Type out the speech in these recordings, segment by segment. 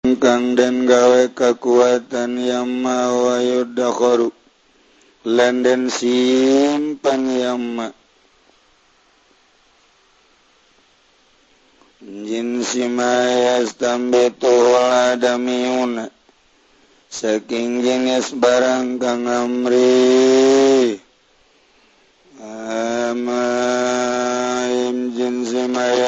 kang den gawe kekuatan yamma wa yudakharu lan den simpan yamma jinsi ma yastambitu adamiyuna saking jenis barang kang amri amaim jinsi ma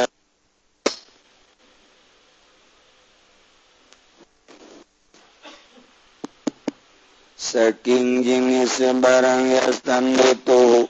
saking jenis barang yastambitu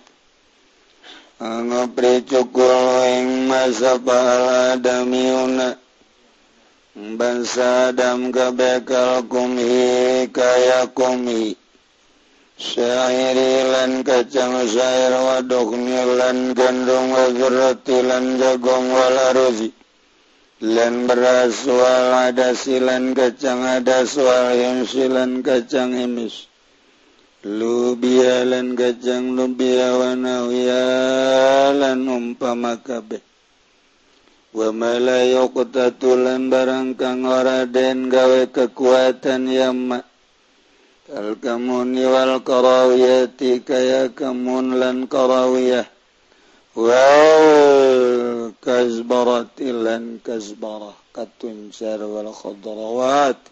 ngopri cukul ing masabal adamiyuna bangsa adam kabekal kumhi kaya kumhi syairi lan kacang syair wadukni lan gandum wazrati lan jagung walaruzi lan beras wal adasi lan kacang adas wal himsi lan kacang himis lubia lan kacang lubia wanawia lan umpama kabeh wa malayuqtatulan barang kang ora den gawe kekuatan yamma kal kamuni wal karawiyati kaya kamun lan karawiyah wal kazbarati lan kazbarah katuncar wal khadrawati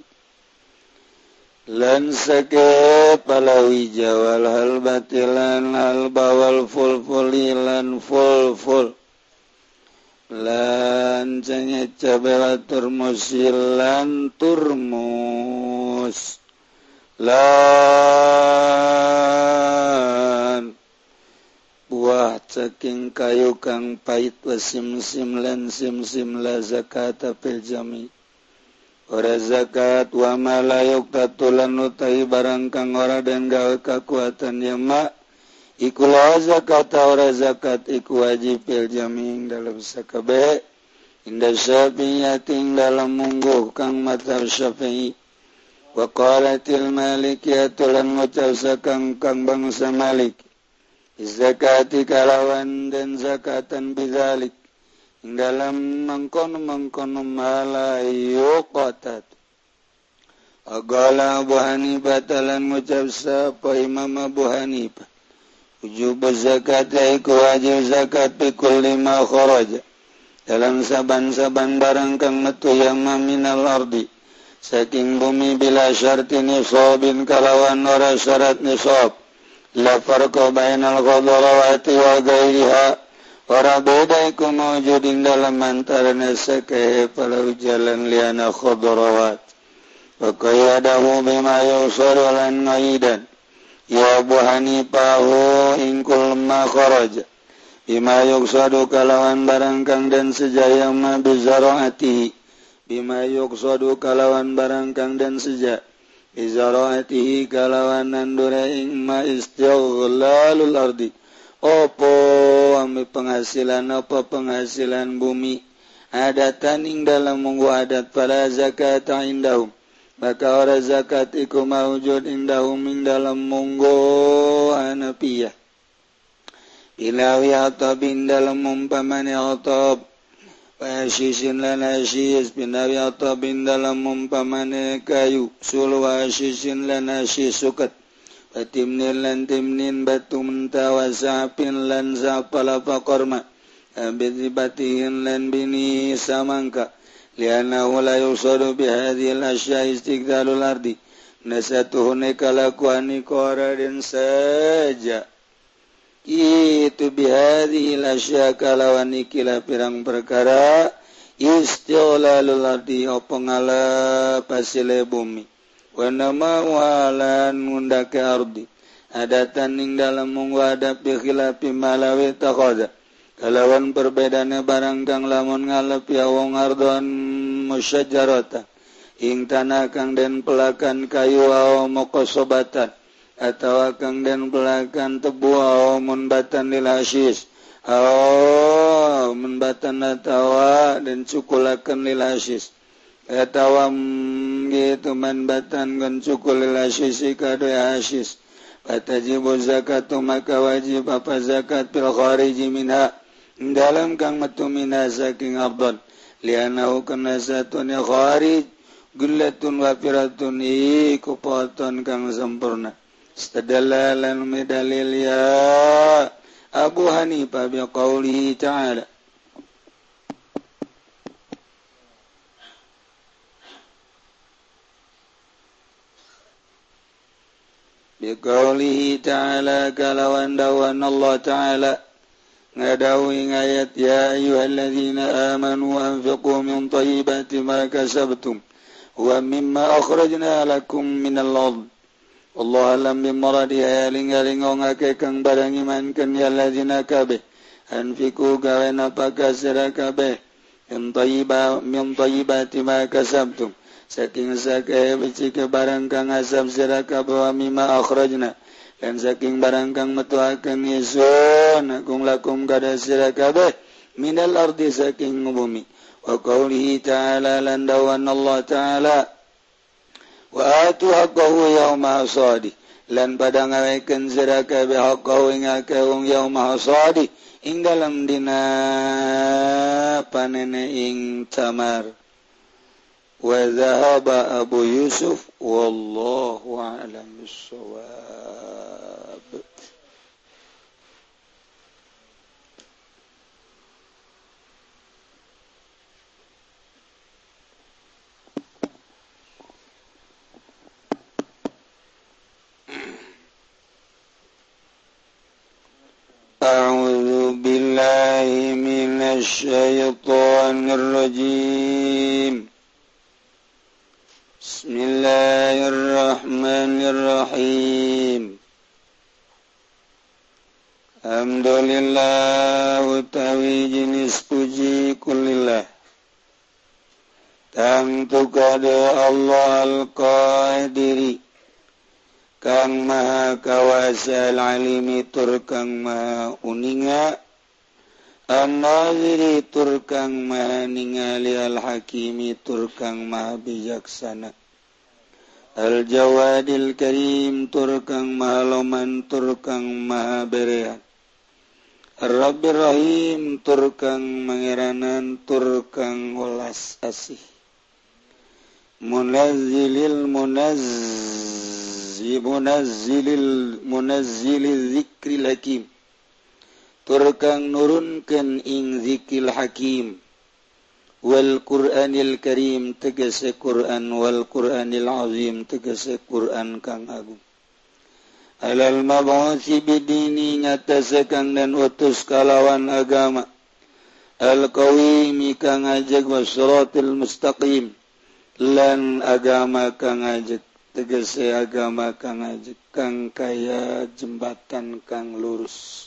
lan sake palawija wal halbati lan halba wal fulfuli lan fulful lan cengek cabe wa turmusil lan turmus lan buah caking kayu kang pait wa simsim lan simsim la zakata fil jami ora zakat wa malayuk tatulan utai barang kang ora den gawe kekuatan yama iku la zakat ora zakat iku wajib fil jami dalam sakabe inda syafi'iyyatin dalam mungguh kang mazhab syafi'i wa qalatil malikiyatulan ngucap sakang kang bangsa malik zakati kalawan dan zakatan bidzalik dalam mengkono malayu qatat agala Abu Hanifah talan ngucap sapa Imam Abu Hanifah wujub zakat iku wajib zakat bi kulli ma kharaja dalam saban-saban barang kang metu yamma minal ardi saking bumi bila syarti nisabin kalawan ora syarat nisab la farqa bainal khadarawati wa ghairiha ora beda iku mawjudin dalam antaranya sake palau jalan liana khadarawat wa qayadahu bima yusaru lan ngaidan ya Abu Hanifahu ingkul ma kharaja bima yuksadu kalawan barang kang dan sejaya ma bizaraatihi bima yuksadu kalawan barang kang dan seja bizaraatihi kalawan nandura ing ma istighlalalul ardi opo ambil penghasilan apa penghasilan bumi adatan ing dalam munggu adat pada zakat indahum maka ora zakat iku maujud indahum ing dalam munggu hanafiyah ilawi atabin dalam umpamane atab wasyisin lan asyis binawi atabin dalam umpamane kayu sul wasyisin lan asyis sukat Batimnin lan timnin batu mentawa sapin lan sapala pakorma abidibatihin lan bini samangka liana la yusadu bihadhil asya istiqdalul ardi nasatuhune kalakuani koraden saja itu bihadhil asya kalawani kila pirang perkara istiqlalul ardi opengala pasile bumi wa nama walan ngundake ardi adatan ing dalam mungwadap bi khilafi malawi takhadha kalawan perbedaane barang kang lamun ngalepi wong ardon musyajjarata ing tanah kang den pelakan kayu aw muqasobatan atawa kang den pelakan tebu aw munbatan lil hasis aw munbatan atawa den cukulaken lil hasis atawam gitu manbatan kan cukul lasisi kado asis fatajibu zakatu maka wajib apa zakat fil khariji minha dalam kang metu minha saking abdon lianahu kana satun kharij gullatun wafiratun iku poton kang sempurna istadalla lan medalil ya Abu Hanifah biqaulihi ta'ala biqaulihi ta'ala kalawan dawan Allah ta'ala ngadawi ayat ya ayyuhalladzina amanu anfiqu min thayyibati ma kasabtum wa mimma akhrajna lakum minal ardh Allah alam bimaradi hayaling-haling ngake kang barang iman kan ya ladzina kabeh anfiqu gawe napaka sira kabeh min thayyibati ma kasabtum saking sake beci ke barang kang asab sira kabeh wa mimma akhrajna dan saking barang kang metuakeun isun kung lakum kada sira kabeh minal ardi saking bumi wa qaulihi ta'ala lan dawan Allah ta'ala wa atu haqqahu yauma hasadi lan pada ngawekeun sira kabeh haqqahu ing akehung yauma hasadi ing dalam dina panene ing tamar wa dhahaba Abu Yusuf wallahu a'lam bissawab. A'udzu billahi minasy syaithanir rajim. Bismillahirrahmanirrahim. Alhamdulillah utawi jenis puji kulillah. Tangtu kada Allah al-Qadiri kang maha kawasa al-alimi tur kang maha uninga an-naziri tur kang maha ningali al-hakimi tur kang maha bijaksana al-jawadil karim tur kang maha loman tur kang maha berehat ar-rabbir rahim tur kang mangeranan tur kang welas asih munazzilil zikril hakim tur kang nurunkeun ing zikil hakim wal qur'anil karim tegese Qur'an wal qur'anil azim tegese Qur'an kang agung alal mab'utsi bidini ngatase kang dan utus kalawan agama al qawimi kang ajeg wasratil mustaqim lan agama kang ajeg tegese agama kang ajeg kang kaya jembatan kang lurus.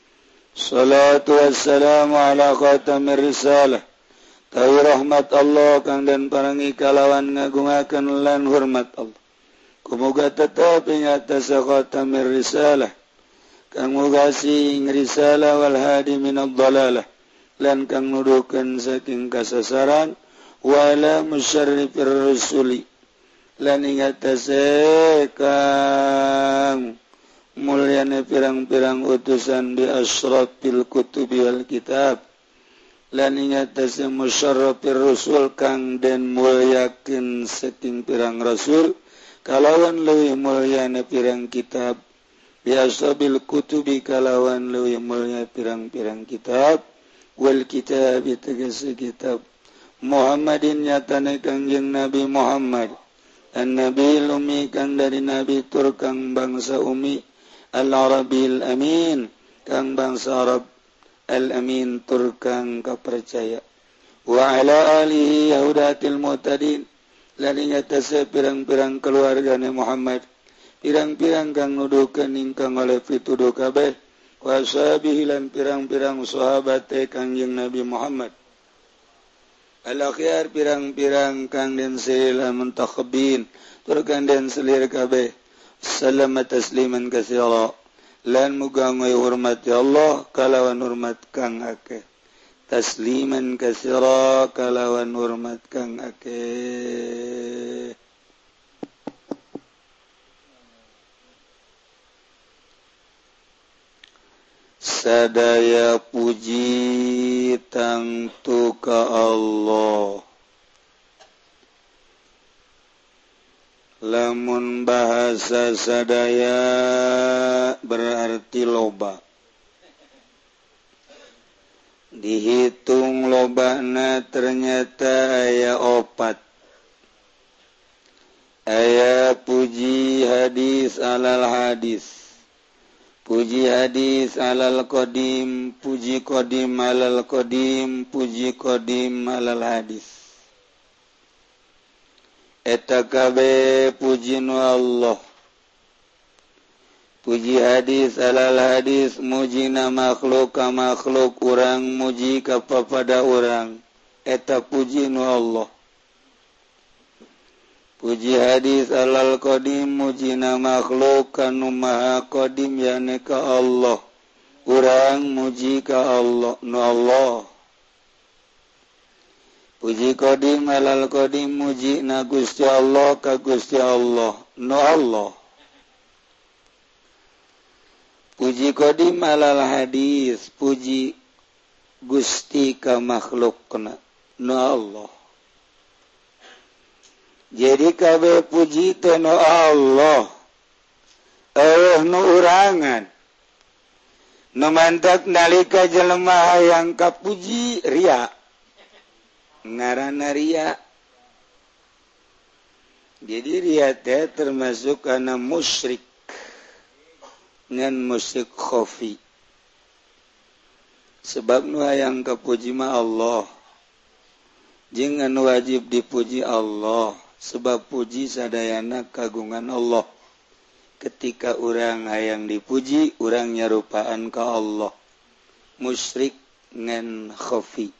Salatu wassalamu ala khatamir risalah. Tawi rahmat Allah kang dan parangi kalawan ngagungaken lan hormat Allah. Kumuga tetep ing atas khatamir risalah. Kang mugasi ing risalah wal hadi minad dhalalah. Lan kang nuduhkeun saking kasasaran wala musyarrifir rusuli. Lan ing atase kang mulyane pirang-pirang utusan bi asyrafil kutubi wal kitab lan ing atase musyarrafir rusul kang den mulyakeun saking pirang rasul kalawan leuwih mulyane pirang kitab bi asyrafil kutubi kalawan leuwih mulya pirang-pirang kitab wal kitab tegese kitab Muhammadin nyatane kangjeng Nabi Muhammad an-nabi umi kang dari nabi tur kang bangsa umi al-arabil amin kang bangsa Arab al-amin tur kang kapercaya wa ala alihi yahudatil mu'tadin lan ing atase pirang-pirang keluargane Muhammad pirang-pirang kang nuduhkeun ingkang oleh pituduh kabeh wa sahbihi lan pirang-pirang sahabate kangjeng Nabi Muhammad al-akhyar pirang-pirang kang den sila muntakhabin tur kang den selir kabeh salama tasliman katsira lan muga ngoy hormat ya Allah kalawan hormat kang akeh tasliman katsira kalawan hormat kang akeh sadaya puji tangtu ka Allah lamun bahasa sadaya berarti loba dihitung lobana ternyata aya opat aya puji hadis alal hadis puji hadis alal qadim puji qadim alal qadim puji qadim alal hadis eta kabeh puji nu Allah puji hadis alal hadis mujina makhluk ka makhluk urang muji ka papada urang eta puji nu Allah puji hadis alal qadim mujina makhluk kanu maha qadim yane ka Allah urang muji ka Allah nu Allah puji qadim alal qadim muji na Gusti Allah ka Gusti Allah nu Allah puji qadim alal hadis puji Gusti ka makhlukna nu Allah jadi kabeh puji teh nu Allah nu urangan nu mantak nalika jelema hayang kapuji ria ngaranna ria jadi ria teh termasuk kana musyrik ngan musyrik khafi sebab nu hayang kapuji mah Allah jeung anu wajib dipuji Allah sebab puji sadayana kagungan Allah ketika urang hayang dipuji urang nyarupaan ka Allah musyrik ngan khafi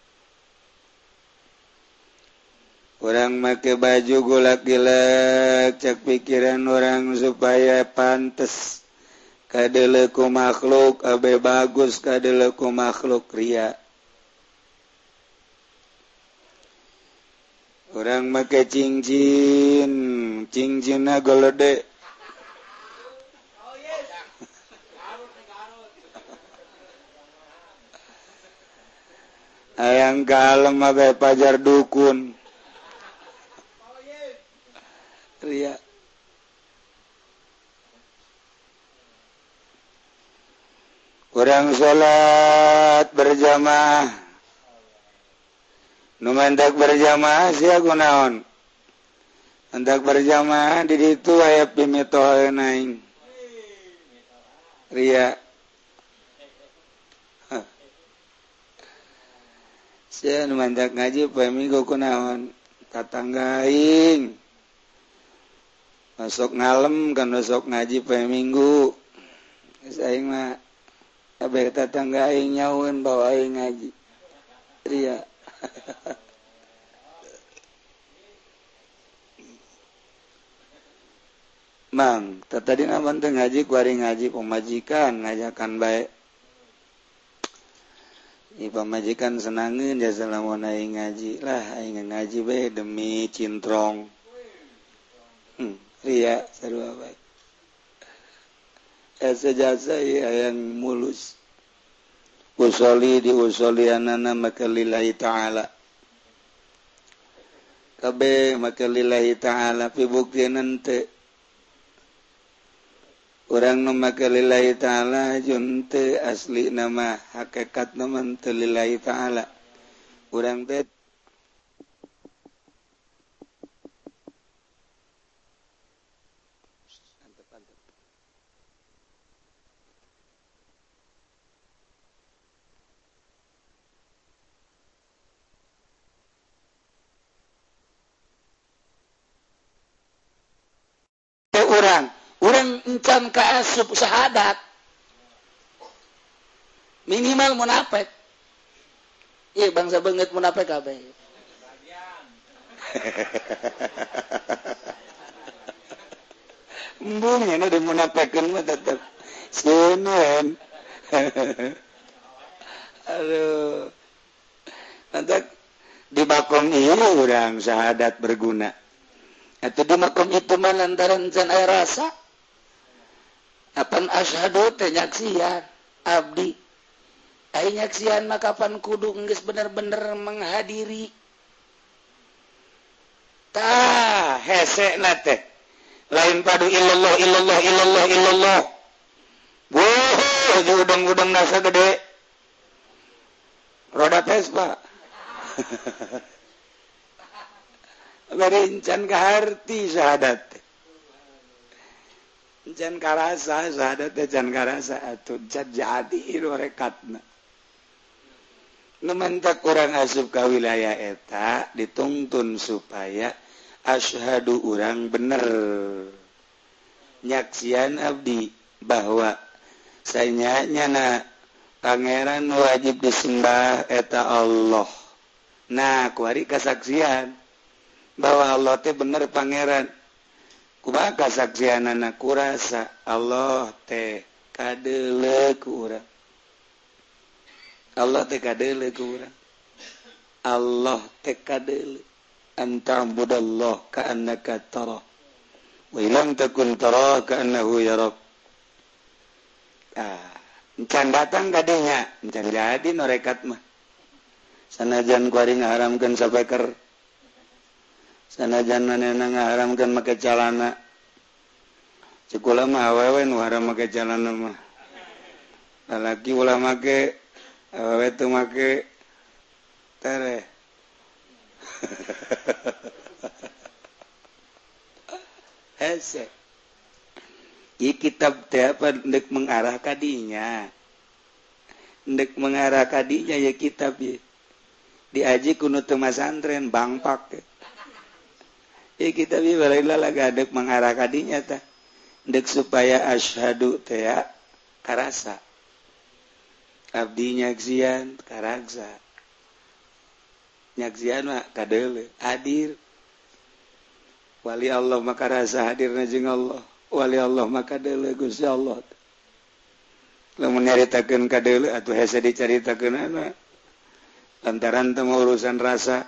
orang make baju golak-gilak cek pikiran orang supaya pantes kadele ku makhluk abe bagus kadele ku makhluk ria orang make cincinna golode ayang kalem abe pajar dukun ria orang sholat berjamaah nu mantak berjamaah sia kunaon mantak berjamaah di ditu aya pimitoheun aing ria sia nu mantak ngaji poe minggu kunaon tatangga aing masuk ngalem kan besok ngaji poe minggu geus aing mah abeh tatangga aing nyaun bawa aing ngaji ria Mang tadi naman teh ngaji kuari ngaji pemajikan ngajakan bae i pamajikan senangeun jasa lamun aing ngaji lah aing ngaji bae demi cintrong ria sarua bae sejasa yang mulus usoli diusolianana maka lillahi ta'ala kabeh maka lillahi ta'ala pibuktian teu urang nu maka lillahi ta'ala jeung teu asli nama hakikat nama teu lillahi ta'ala urang teh urang encan kaasup syahadat minimal munafik ieu bangsa beungeut munafik kabeh embung nya da munafikeun mah tetep seuneun aduh antak di makom ieu urang syahadat berguna atau di makom itu mah lantaran can aya rasa apan asyhadu teh nyaksian abdi ai nyaksian mah kapan kudu geus bener-bener menghadiri tah hese na teh lain padu illallah illallah illallah illallah. Wow, udang-udang nasa gede. Roda Vespa. Berincan kaharti syahadat. Can karasa syahadat can karasa atuh can jadi rekatna. Numantak urang asup ka wilayah eta dituntun supaya asyhadu urang bener. Nyaksian abdi bahwa sayanya pangeran wajib disembah eta Allah. Nah, kuari kasaksian bahwa Allah teh bener pangeran. Kumaha kasaksianana kurasa Allah teh kadeule ku urang. Allah teh kadeule ku urang. Allah teh kadeule anta'budallah ka'annaka tarah wa illam takun tarah ka'annahu yarak. Encan datang kadinya, encan jadi norekat mah. Sanajan kuari ngaharamkeun sapeker. Sanajan manehna ngaharamkeun make calana. Cikula mah awewe nu haram make calana mah. Lalaki ulah make, awewe teu make tere. Hese. Ieu kitab teh apa ndek mengarah kadinya. Ndek mengarah kadinya ya kitab ieu. Diaji kuno teu masantren bangpak. Ieu kitab ieu balaila lagadek mengarah kadinya tah. Ndek supaya asyhadu teh ya karasa. Abdi nyaksian karaksa. Nyaksian mah kadeule hadir. Wali Allah maka rasa hadirna jeung Allah. Wali Allah maka deule Gusti Allah. Lamun nyaritakeun ka deule atuh hese dicaritakeunana. Lantaran teu urusan rasa.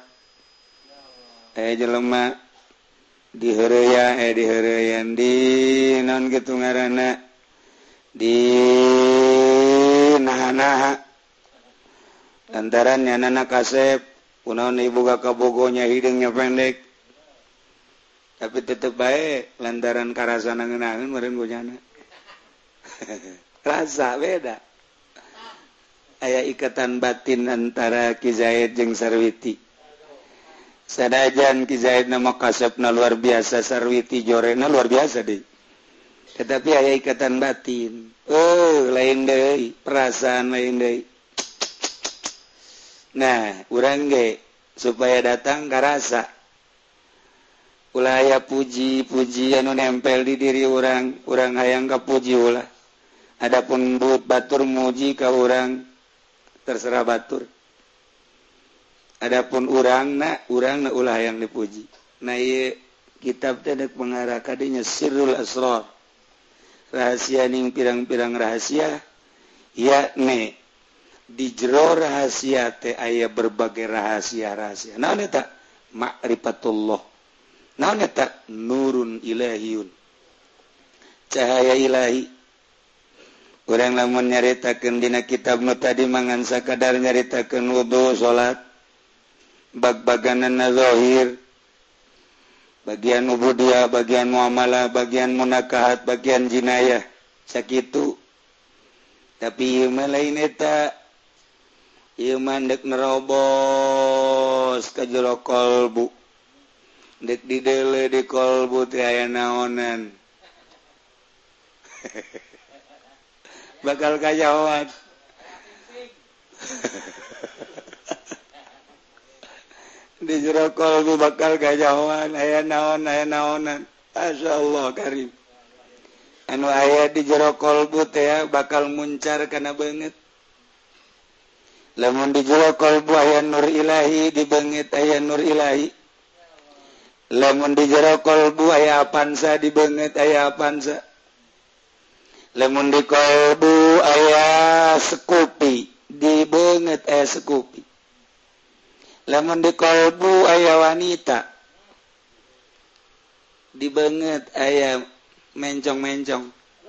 Jelema diheureyan di naon kitu ngaranna di naha-naha. Lantaran nyanana kasep kunaon iboga kabogonya hidungnya pendek. Tapi tetep baik lantaran karasana ngeunaheun meureun bojana. Rasa beda. Aya ikatan batin antara Ki Zaid jeung Sarwiti. Sadajan Ki Zaid nama kasepna luar biasa, Sarwiti jorena luar biasa deui. Tetapi aya ikatan batin. Lain deui, perasaan lain deui. Nah, urang ge supaya datang karasa. Ulah aya puji-puji anu nempel di diri urang hayang kapuji ulah. Adapun batur muji ka urang terserah batur. Adapun urangna ulah hayang dipuji. Nah ieu kitab teh dek mengarah ka dinya sirrul asrar. Rahasia ning pirang-pirang rahasia yakni di jero rahasia teh aya berbagai rahasia-rahasia. Naon eta? Ma'rifatullah. Naon eta? Nurun ilahiyun. Cahaya ilahi. Urang lamun nyaritakeun dina kitab nu tadi mangan sakadar nyaritakeun wudu salat. Bag-baganana zahir. Bagian ubudiyah, bagian muamalah, bagian munakahat, bagian jinayah. Sakitu. Tapi ieu mah lain eta. Ieu mah dek nerobos ka jero kolbu. Dek dideule di kolbu teh aya naonan. Bakal kajawat. Di jero kolbu bakal kajawat aya naonan. Masyaallah karim. Anu aya di jero kolbu teh bakal muncar kana beungeut. Lamun di jero kolbu aya nur ilahi, di beungeut aya nur ilahi. Lamun di jero kolbu aya apansa, di beungeut aya apansa. Lamun di kolbu aya sekupi, di beungeut aya sekupi. Lamun di kolbu aya wanita, di beungeut aya mencong-mencong.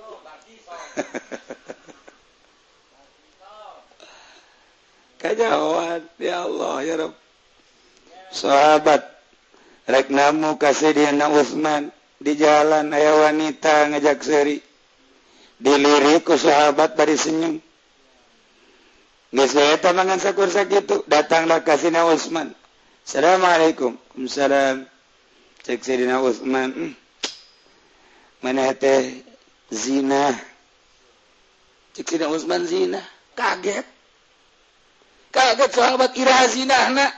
Kajawat ya Allah ya Rabb. Sahabat rek namu ka Sayyidina Utsman di jalan aya wanita ngajak seri diliriku sahabat dari senyum geus eta mangan sakursa kitu datanglah ka Sayyidina Utsman Assalamualaikum Waalaikumsalam cek Sayyidina Utsman maneh teh zina cek Sayyidina Utsman zina kaget sahabat iraha zinahna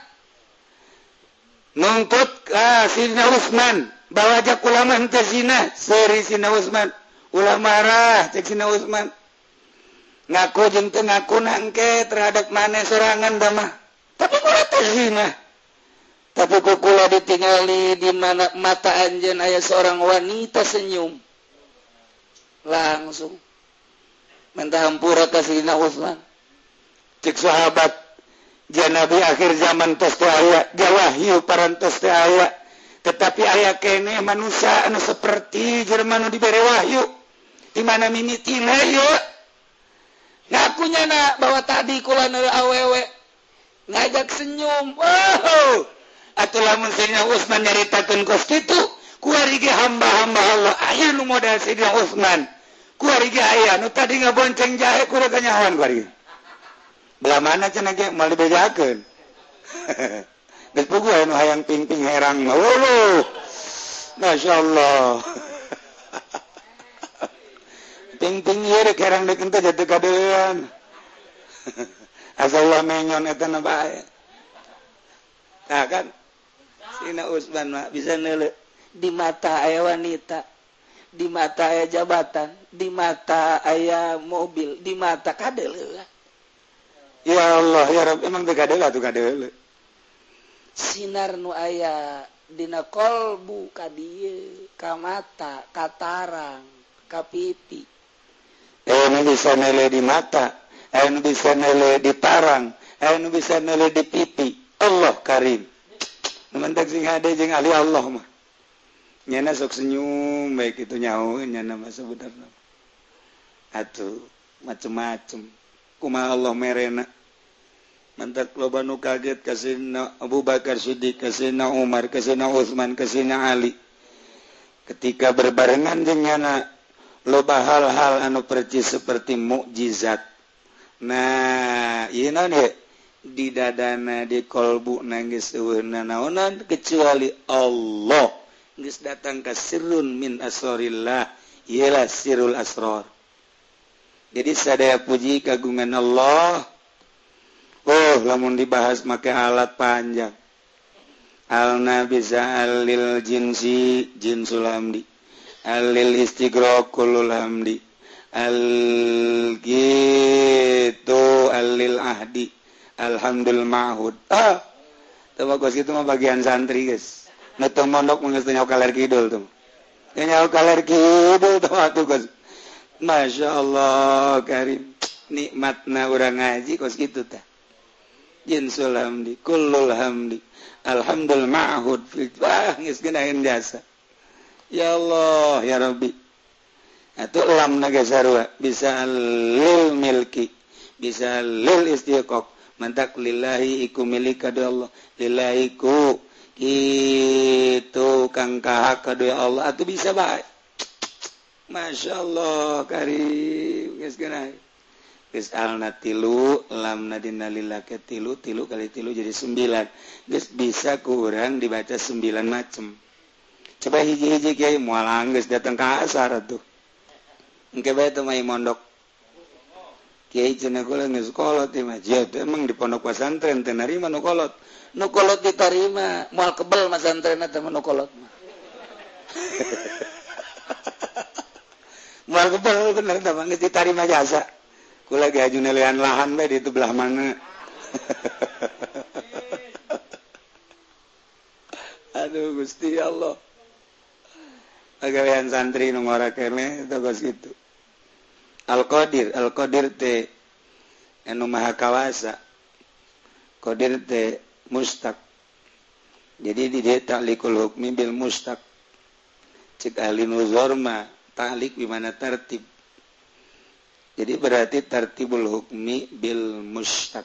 nuntut ka Sayyidina Utsman bawa jak ulama henteu zina seri Sayyidina Utsman ulah marah cek Sayyidina Utsman ngaku jeung teu ngakuna engke terhadap maneh sorangan da mah tapi kula teh zina tapi kukula ditingali di mana mata anjeun aya seorang wanita senyum langsung minta hampura ka Sayyidina Utsman cek sahabat jan nabi akhir zaman tos teu aya wahyu parantos teu aya tetapi aya keneh manusia anu seperti jelema nu dibere wahyu di mana mimitina yuk ngakunya nak bahwa tadi kula neu awewe ngajak senyum atuh lamun Sayyidina Utsman nyaritakeun kos kitu ku ari ge hamba-hamba Allah aya nu modal Sayyidina Utsman ku ari ge aya nu tadi ngabonceng jahe kudu kanyahoan ku ari belah mana cenah ge moal dibejakeun geus puguh anu hayang ping-ping herang mah masyaallah ping-ping ieu rek herang deukeun teh jatuh kadean asallah menyon eta na bae tah kan Sayyidina Utsman mah bisa neuleuh di mata aya wanita di mata aya jabatan di mata aya mobil di mata kadeuleuh ya Allah ya Rabb emang teu kadeuleuh atuh kadeuleuh sinar nu aya dina kolbu ka dieu ka mata ka tarang ka pipi anu bisa nele di mata anu bisa nele di tarang anu bisa nele di pipi Allah karim mentak sing hade jeung ahli Allah mah nyana sok senyum baik itu nyahoeun nyana mah sebenarnya atuh macem-macem kumaha Allah merena mantak loba nu kaget ka Sayyidina Abu Bakar Siddiq ka Sayyidina Umar ka Sayyidina Utsman ka Sayyidina Ali ketika berbarengan jeung nyana loba hal-hal anu percis seperti mukjizat nah ieu naon ye di dadana di kolbu geus eueuna naonan kecuali Allah geus datang ka sirrun min asrarillah ialah sirrul asrar jadi sadaya puji kagungan Allah lamun dibahas make alat panjang al-nabi za'alil jinsi jinsul hamdi alil istighraqul hamdi al-gitu alil ahdi alhamdul ma'hud tebak itu mah bagian santri guys netong mondok geus teu nyaho kaler kidul tuh nyaho kaler kidul tuh atuh guys masyaallah karim nikmatna urang ngaji kos kitu tah jinsul hamdi kullul hamdi alhamdul ma'hud geus geunaeun jasa ya Allah ya Rabbi atuh lam naga sarua bisa lil milki bisa lil istiqaq mantak lillahi iku milik kadu Allah lillahi ku kitu kang kahak kadu Allah atuh bisa bae masyaallah karim geus geunah geus alna tilu lamna dina lillahi tilu kali tilu jadi 9 geus bisa ku urang dibaca 9 macem. Coba hiji-hiji kiai moal anggeus datang ka asar atuh. Engke bae teu mai mondok. Kiai cenah kula geus kolot ieu mah. Emang di pondok pesantren teu narima nu kolot. Nu kolot ditarima, moal kebel pesantrenna teh nu kolot mah. Moal kebel bener tah geus ditarima jasa. Kula ge aju nelean lahan bae di itu belah mana. Aduh Gusti Allah. Pagawean santri nu ngora keneh togos kitu. Al-Qadir teh anu maha kawasa. Qadir teh mustaq. Jadi di dieu ta'liqul hukmi bil mustaq. Cik ahli nuzur mah ta'liq di mana tertib. Jadi berarti tertibul hukmi bil mustaq.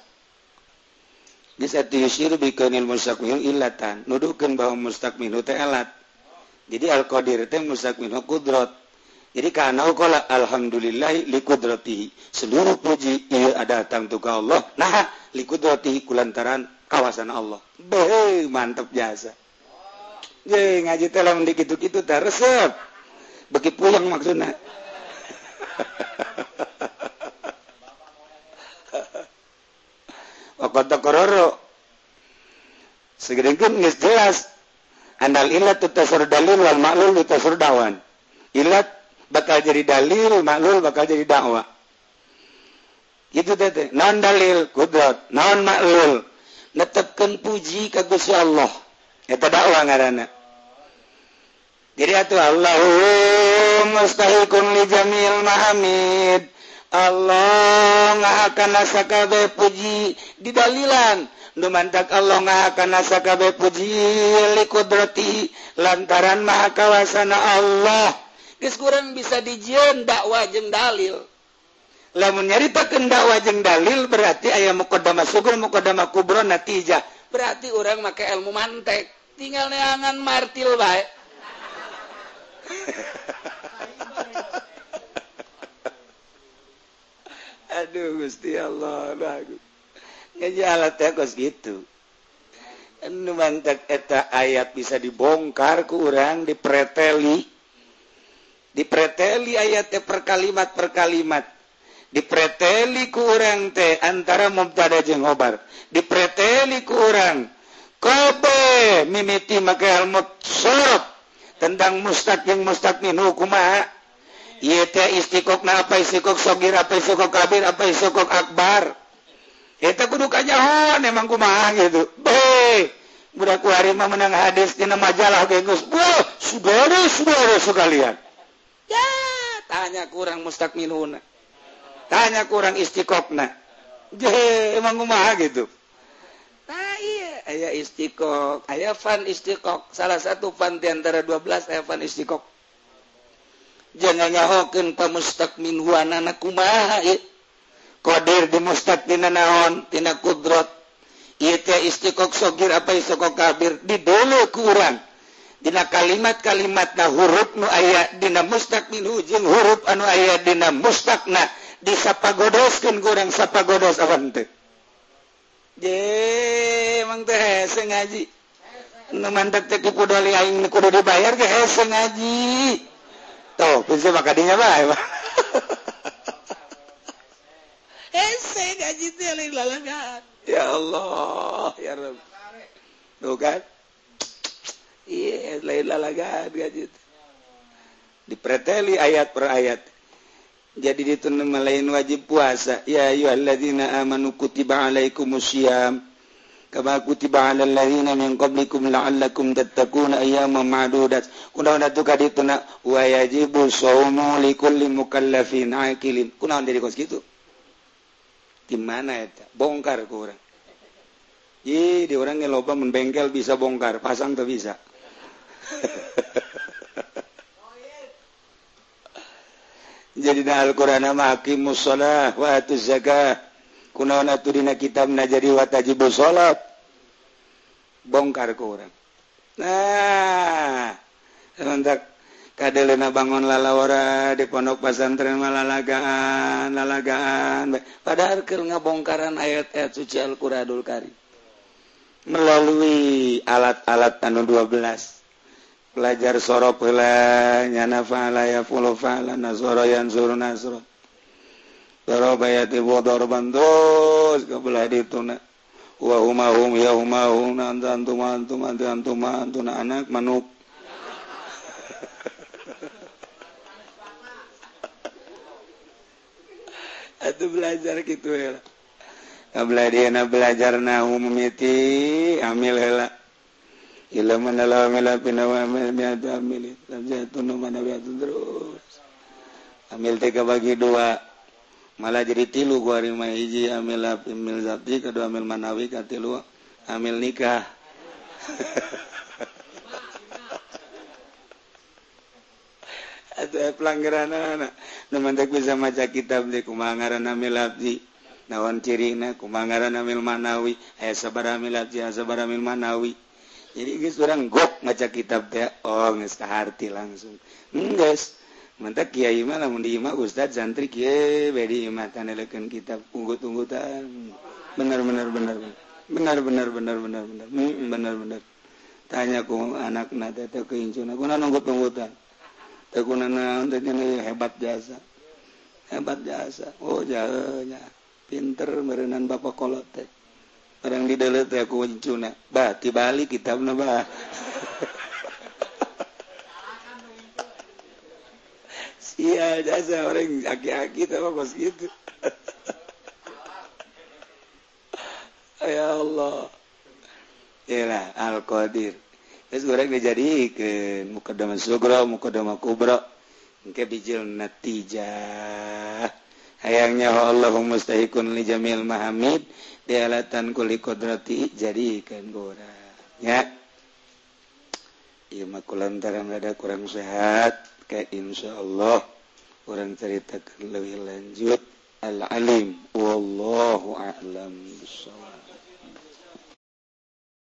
Di satu yusir bi kaunil mustaq min illatan. Nuduhkeun bahwa mustaq minhu teh alat. Jadi al-qadir teh mustaq minhu qudrat. Jadi kana qala alhamdulillah li qudratihi. Seluruh puji ieu datang tu ka Allah. Nah, li qudratihi kulantaran kawasan Allah. Beuh, mantap jasa. Ye ngaji teh lamun dikitu-kitu teh resep. Beki puyeng maksudna. Waktu kororo segedengkeun geus jelas andal ilat tutasur dalil wal ma'lul tutasur dawan. Ilat bakal jadi dalil, ma'lul bakal jadi dakwah. Gitu teh. Naon dalil? Qudrat. Naon ma'lul? Netepkeun puji ka Gusti Allah. Eta dakwah ngaranna. Jadi atuh Allahu mustahiqun li jamil mahamid. Allah ngahakana sakabeh puji di dalilan. Nu mantak Allah ngahakana sakabeh puji li qudrati lantaran maha kawasana Allah. Geus kurang bisa dijieun dakwah jeung dalil. Lamun nyaritakeun dakwah jeung dalil berarti aya muqaddamah sughra muqaddamah kubra natijah. Berarti urang make ilmu mantek. Tinggal neangan martil bae. Aduh Gusti Allah bagus. Ngejalat teh kos gitu. Anu mantek eta ayat bisa dibongkar ku urang dipreteli. Dipreteli ayat teh per kalimat per kalimat. Dipreteli ku urang teh antara mubtada jeung khobar. Dipreteli ku urang kabeh mimiti make ilmu sorot tentang mustaq jeung mustaq minhu kumaha. Ieu teh istiqoqna apa istiqoq shogir apa istiqoq kabir apa istiqoq akbar. Eta kudu kanyahon emang kumaha gitu. Budak kuari mah menang hadis dina majalah ge geus. Wah, saudara sekalian. Ya, tanya kurang mustaq minhuna. Tanya kurang istiqoqna. Emang kumaha gitu. Nah iya, aya istiqoq, aya fan istiqoq. Salah satu fan di antara 12 aya fan istiqoq. Jangan nyahokeun pa mustaq minhu anana kumaha ieu. Qadir di mustaq tina naon? Tina qudrat. Ieu teh istiqoq shogir apa istiqoq kabir didolo ku urang. Dina kalimat-kalimatna huruf nu aya dina mustaq minhu jeung huruf anu aya dina mustaqna disapagodoskeun ku urang sapagodos awan teh. Emang teh hese ngaji. Nu mantep teh kudoli aing kudu dibayar ge hese ngaji. Tuh, bisa makadinya bae. Hese ngaji teh lain lalagan. Ya Allah, ya Rabb. Tuh kan? Iya, lain lalagan ngaji teh. Dipreteli ayat per ayat. Jadi itu nama lain wajib puasa. Ya ayyuhalladzina amanu kutiba alaikumusiyam kama kutiba alal ladzina min qablikum la'allakum tattaquna ayyaman ma'dudat. Kunaon atuh ka dituna wa yajibu shaumu likulli mukallafin aqilin. Kunaon dari kos kitu? Di mana eta? Bongkar ku urang. Di urang ge loba mun bengkel bisa bongkar, pasang teu bisa. Jadi na Al-Qur'an mah aqimus shalah wa atuz zakah. Kunaon atuh dina kitabna jadi watajibus shalat. Bongkar ku urang. Nah, sementak kadeleuna bangun lalawara di pondok pesantren mah lalagaan. Padahal keur ngabongkaran ayat-ayat suci Al-Qur'anul Karim. Melalui alat-alat anu 12. Pelajar soro pela nyana fa'ala ya fulu fa'ala nasoro yansuru nasro darabaya tibu darban terus kebelah dituna wa humahum ya humahum antum anak manuk atuh belajar gitu ya kabelah dia belajar nahu mimiti amil heula ilmu dalam melapin awamil miatu amil jatuh mana biatu terus amil tiga bagi dua malah jadi tilu gua rima hiji amil lapin mil zabdi kedua amil manawi katilu amil nikah atau pelanggaran anak nemantek bisa maca kitab di kumangaran amil labdi nawan cirina kumangaran amil manawi sabara amil labdi sabara amil manawi jadi geus urang gok maca kitab teh geus kaharti langsung geus mantap kiai mah lamun di imah ustad santri kieu bae di imah taneleukeun kitab unggut-unggutan benar tanya ku anakna teh teh keincuna kunaon unggut-unggutan teh kunaon teh hebat jasa oh jahenya pinter meureunan bapak kolot teh orang di dalam teh aku incuna bah tibalik kitabna bah sia jasa orang aki-aki teh kos gitu ya Allah yalah al-qadir geus urang dijadikeun muqaddamah sugra muqaddamah kubra engke bijil natijah hayangnya Allahumma mustahiqun li jamil mahamid dialatan kuli kodrati jadikan orang ya iya mah kulantaran ada kurang sehat kayak insyaallah orang ceritakan lebih lanjut al-alim wallahu a'lam bishawab